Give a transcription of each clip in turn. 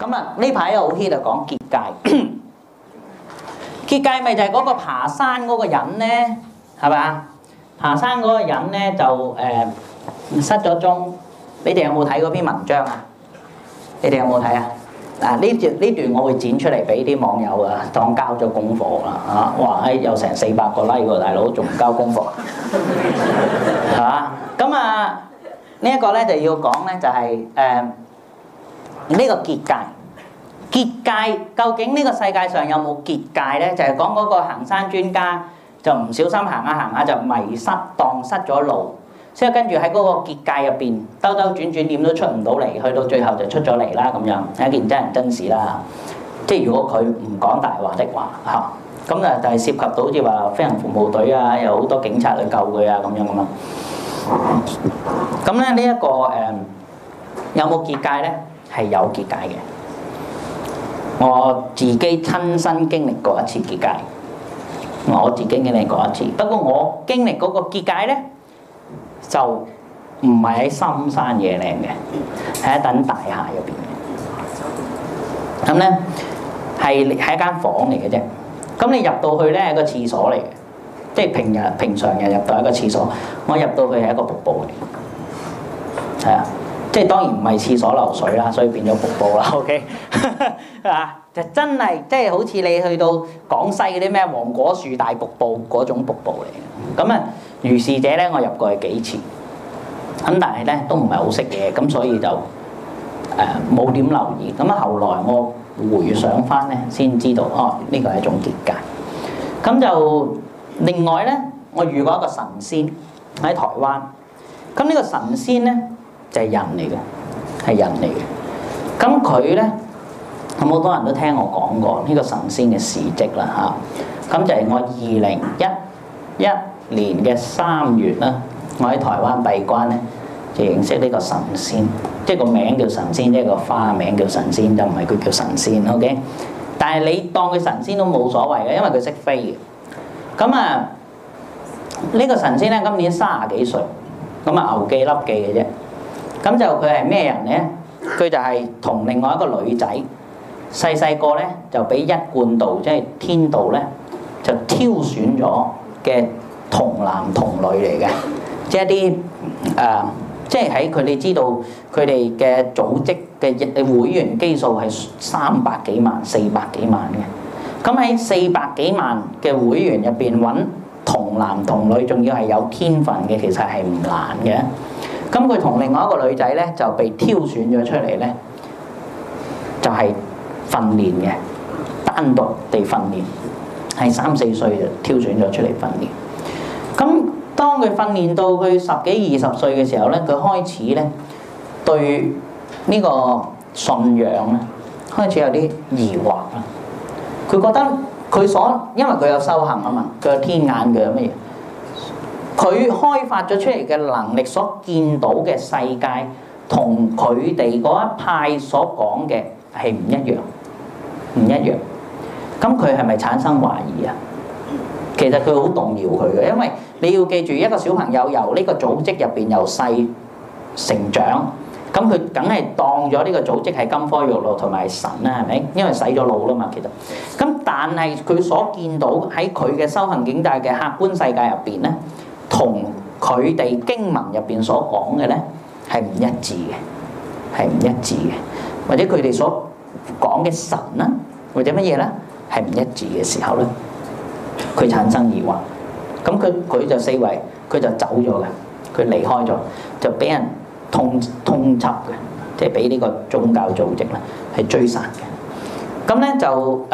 咁啊呢排又好 hit 啊，講結界。結界咪就係嗰個爬山嗰個人咧，係嘛？爬山嗰個人咧就失咗蹤。你哋有冇睇嗰篇文章啊？你哋有冇睇啊？嗱呢段我會剪出嚟俾啲網友啊，當交咗功課啦嚇！哇！有成400個 like 喎，大佬仲唔交功課？係嘛？咁啊呢一個咧就要講咧就係呢個結界。結界究竟呢個世界上有冇結界咧？就係講嗰個行山專家就唔小心行下行下就迷失，蕩失咗路。之後跟住喺嗰個結界入邊兜兜轉轉點都出唔到嚟，去到最後就出咗嚟啦咁樣，係一件真人真事啦。即係如果佢唔講大話的話嚇，咁啊就係涉及到好似話飛行服務隊啊，有好多警察去救佢啊咁樣咁啊。咁咧呢一個有冇結界咧？係有結界嘅。我自己親身經歷過一次結界，我自己經歷過一次。不過我經歷嗰個結界咧，就唔係喺深山野嶺嘅，喺一棟大廈入邊嘅。咁咧係一間房嚟嘅啫。咁你入到去咧係個廁所嚟嘅，即係平常人入到一個廁所。我入到去係一個瀑布嚟，係啊，即係當然唔係廁所流水啦，所以變咗瀑布啦。OK 啊，就真係即係好似你去到廣西嗰啲咩黃果樹大瀑布嗰種瀑布嚟嘅。咁啊〜如是者咧，我入過去幾次，咁但係咧都唔係好識嘢，咁所以就冇點留意。咁啊，後來我回想翻咧，先知道哦，呢個係一種結界。咁就另外咧，我遇過一個神仙喺台灣。咁呢個神仙咧就係人嚟嘅，係人嚟嘅。咁佢咧咁好多人都聽我講過呢個神仙嘅事蹟啦嚇。咁就係我2011年嘅3月啦，我喺台灣閉關咧，就認識呢個神仙，即係個名叫神仙，即係個花名叫神仙，就唔係佢叫神仙 ，OK？ 但係你當佢神仙都冇所謂嘅，因為佢識飛嘅。咁啊，呢個神仙咧今年30幾歲，咁啊牛記笠記嘅啫。咁就佢係咩人咧？佢就係同另外一個女仔細個咧就俾一貫道即係天道咧就挑選咗嘅。童男童女嚟嘅，即係一啲即係喺佢哋知道佢哋嘅組織嘅會員基數係300幾萬、400幾萬嘅。咁喺400幾萬嘅會員入邊揾童男童女，仲要係有天分嘅，其實係唔難嘅。咁佢同另外一個女仔咧就被挑選咗出嚟咧，就係訓練嘅，單獨地訓練，係3、4歲就挑選咗出嚟訓練。咁當佢訓練到佢10幾20歲嘅時候咧，佢開始咧對呢個信仰咧開始有啲疑惑啦。佢覺得因為佢有修行啊嘛，佢有天眼，佢有乜嘢？佢開發咗出嚟嘅能力所見到嘅世界，同佢哋嗰一派所講嘅係唔一樣，唔一樣。咁佢係咪產生懷疑啊？其實佢好動搖佢嘅，因為你要記住一個小朋友由呢個組織入邊由細成長，咁佢梗係當咗呢個組織係金科玉律同埋神啦，係咪？因為洗咗腦啦嘛，其實。咁但係佢所見到喺佢嘅修行境界嘅客觀世界入邊咧，同佢哋經文入邊所講嘅咧係唔一致嘅，係唔一致嘅，或者佢哋所講嘅神啦，或者乜嘢咧係唔一致嘅時候咧。佢產生疑惑，咁佢就四圍，佢就走咗嘅，佢離開咗，就俾人通緝嘅，即係俾呢個宗教組織咧係追殺嘅。咁咧就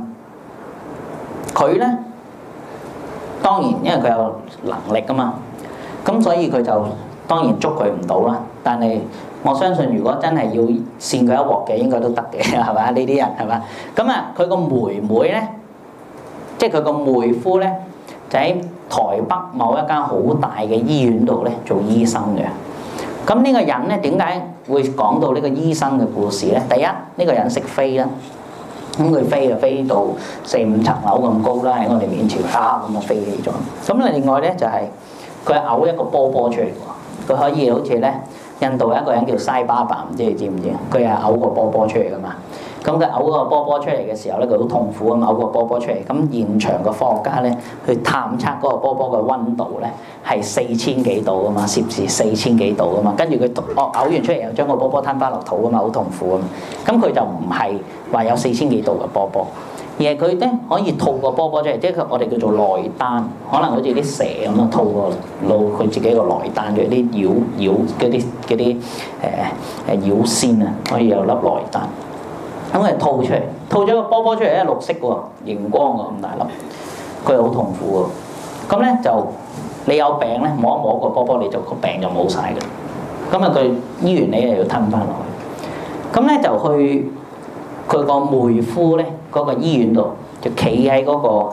佢咧當然因為佢有能力㗎嘛，咁所以佢就當然捉佢唔到啦。但係我相信如果真係要扇佢一鑊嘅，應該都得嘅，係嘛？呢啲人係嘛？咁啊，佢個妹妹咧。即係佢個妹夫咧，就喺台北某一間好大嘅醫院度咧做醫生嘅。咁呢個人咧點解會講到呢個醫生嘅故事咧？第一，呢個人識飛啦，咁佢飛就飛到4、5層樓咁高啦，喺我哋面前咁啊飛起咗。咁另外咧就係佢嘔一個波波出嚟喎，佢可以好似咧印度有一個人叫西巴巴，唔知你知唔知？佢係嘔個波波出嚟噶嘛。 咁佢嘔嗰個波波出嚟嘅時候咧，佢好痛苦咁嘔個波波出嚟。咁現場嘅科學家咧去探測嗰個波波嘅溫度咧係4000幾度啊嘛，攝氏4000幾度啊嘛。跟住佢嘔完出嚟又將個波波吞翻落肚啊嘛，好痛苦啊嘛。咁佢就唔係話有4000幾度嘅波波，而係佢咧可以吐個波波出嚟，即係我哋叫做內丹，可能好似啲蛇咁樣吐個露佢自己個內丹嘅啲妖嗰啲妖仙啊，可以有粒內丹。咁佢吐出嚟，吐咗個波波出嚟咧，綠色喎，熒光喎咁大粒，佢好痛苦喎。咁咧就你有病咧，摸一摸個波波，你就個病就冇晒嘅。咁啊，佢醫完你又要吞翻落去。咁咧就去佢個妹夫咧嗰個醫院度，就企喺嗰個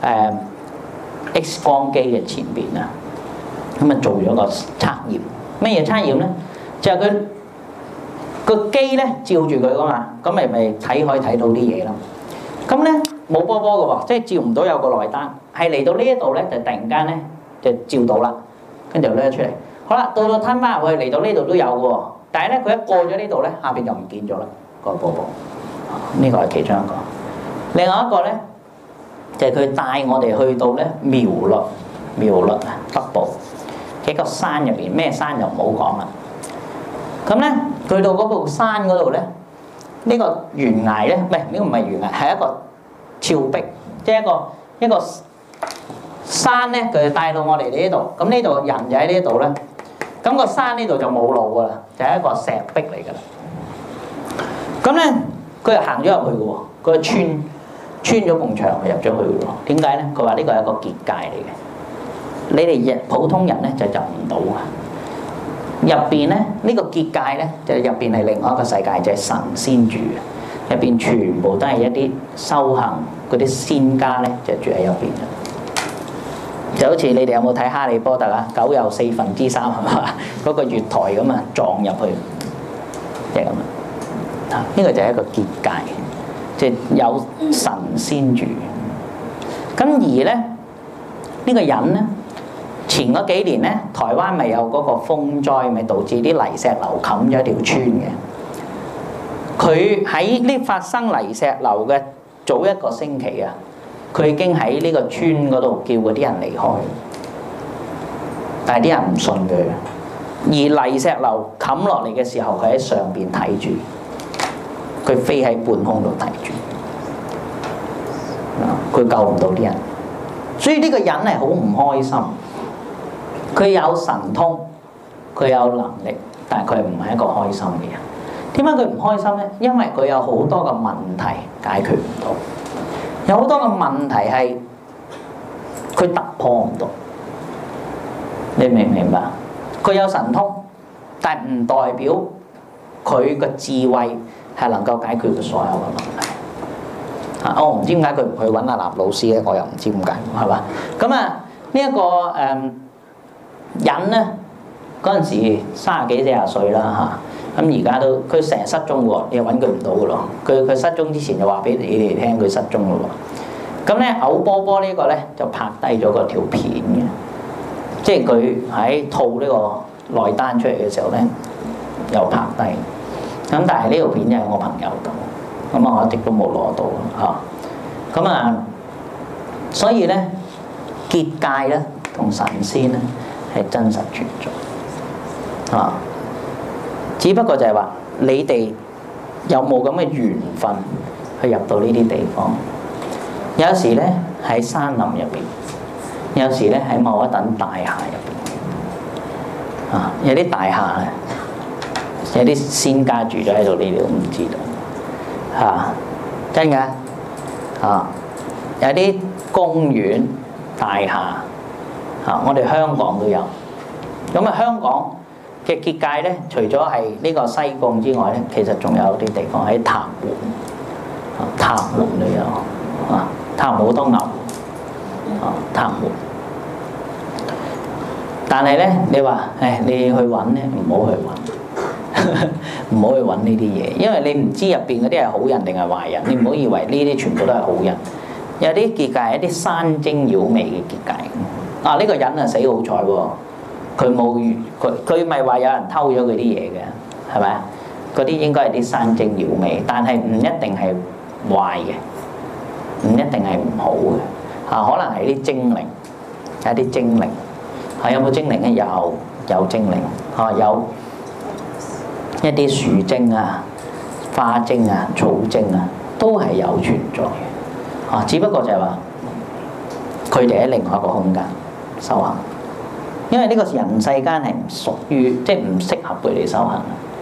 X 光機嘅前邊啊。咁啊做咗個測驗，咩嘢測驗咧？就係佢。個機咧照住佢噶嘛，咁咪可以睇到啲嘢咯。咁咧冇波波嘅喎，即係照唔到有個內丹，係嚟到呢一度咧就突然間咧就照到啦，跟住就拎出嚟。好啦，到吞翻入去嚟到呢度都有嘅喎，但係咧佢一過咗呢度咧，下邊就唔見咗啦個波波。呢個係其中一個。另外一個咧就係佢帶我哋去到咧苗栗啊北部喺個山入邊，咩山就唔好講啦。咁咧，去到嗰部山嗰度咧，呢個懸崖咧，呢個唔係懸崖，係一個峭壁，即係一個山咧，佢帶到我哋呢度。咁呢度人就喺呢度咧，咁個山呢度就冇路噶啦，就係一個石壁嚟噶啦。咁咧，佢又行咗入去嘅喎，佢穿咗埲牆入咗去嘅喎。點解咧？佢話呢個係一個結界嚟嘅，你哋普通人咧就入唔到啊。入邊咧，呢個結界咧，就入邊係另外一個世界，就係神仙住嘅。入邊全部都係一啲修行嗰啲仙家咧，就住喺入邊嘅。就好似你哋有冇睇《哈利波特》啊？九又4分之3係嘛？嗰個月台咁啊，撞入去，即係咁啊。呢個就係一個結界，即係有神仙住。咁而咧，呢個人咧。前嗰幾年咧，台灣咪有嗰個風災，咪導致啲泥石流冚咗一條村嘅。佢喺呢發生泥石流嘅早1個星期啊，佢已經喺呢個村嗰度叫嗰啲人離開，但係啲人唔信佢。而泥石流冚落嚟嘅時候，佢喺上邊睇住，佢飛喺半空度睇住，佢救唔到啲人，所以呢個人係好唔開心。佢有神通，佢有能力，但係佢唔係一個開心嘅人。點解佢唔開心咧？因為佢有好多嘅問題解決唔到，有好多嘅問題係佢突破唔到。你明唔明白？佢有神通，但係唔代表佢嘅智慧係能夠解決佢所有嘅問題。我唔知點解佢唔去揾阿立老師咧，我又唔知點解，係嘛？咁啊，呢一個人咧嗰陣時30幾40歲啦嚇，咁而家都佢成日失蹤喎，你又揾佢唔到嘅咯。佢失蹤之前就話俾你哋聽佢失蹤咯喎。咁咧嘔波波呢個咧就拍低咗嗰條片嘅，即係佢喺吐呢個內丹出嚟嘅時候咧又拍低。咁但係呢條片就喺我朋友度，咁啊我一直都冇攞到嚇。咁啊，所以咧結界咧同神仙咧係真實存在啊！只不過就係話你哋有冇咁嘅緣分去入到呢啲地方？有時咧喺山林入邊，有時咧喺某一棟大廈入邊啊！有啲大廈咧，有啲仙家住咗喺度，你哋都唔知道嚇，真㗎啊！有啲公園大廈。我哋香港都有，咁啊香港嘅結界咧，除咗係呢個西貢之外咧，其實仲有啲地方喺塔門，塔門都有，塔門好多牛，塔門。但係咧，你話你去揾咧，唔好去揾，唔好去揾呢啲嘢，因為你唔知入邊嗰啲係好人定係壞人，你唔好以為呢啲全部都係好人。有啲結界係一啲山精妖魅嘅結界。呢個人啊死好彩喎！佢冇佢咪話有人偷咗佢啲嘢嘅，係咪啊？ 嗰啲應該係啲山精妖魅，但係唔一定係壞嘅，唔一定係唔好嘅嚇，可能係啲精靈，係一啲精靈嚇。有冇精靈咧？有精靈嚇，有一啲樹精啊、花精啊、草精啊，都係有存在嘅嚇。只不過就係話佢哋喺另外一個空間修行，因為呢個人世間係唔屬於，即係唔適合佢哋修行。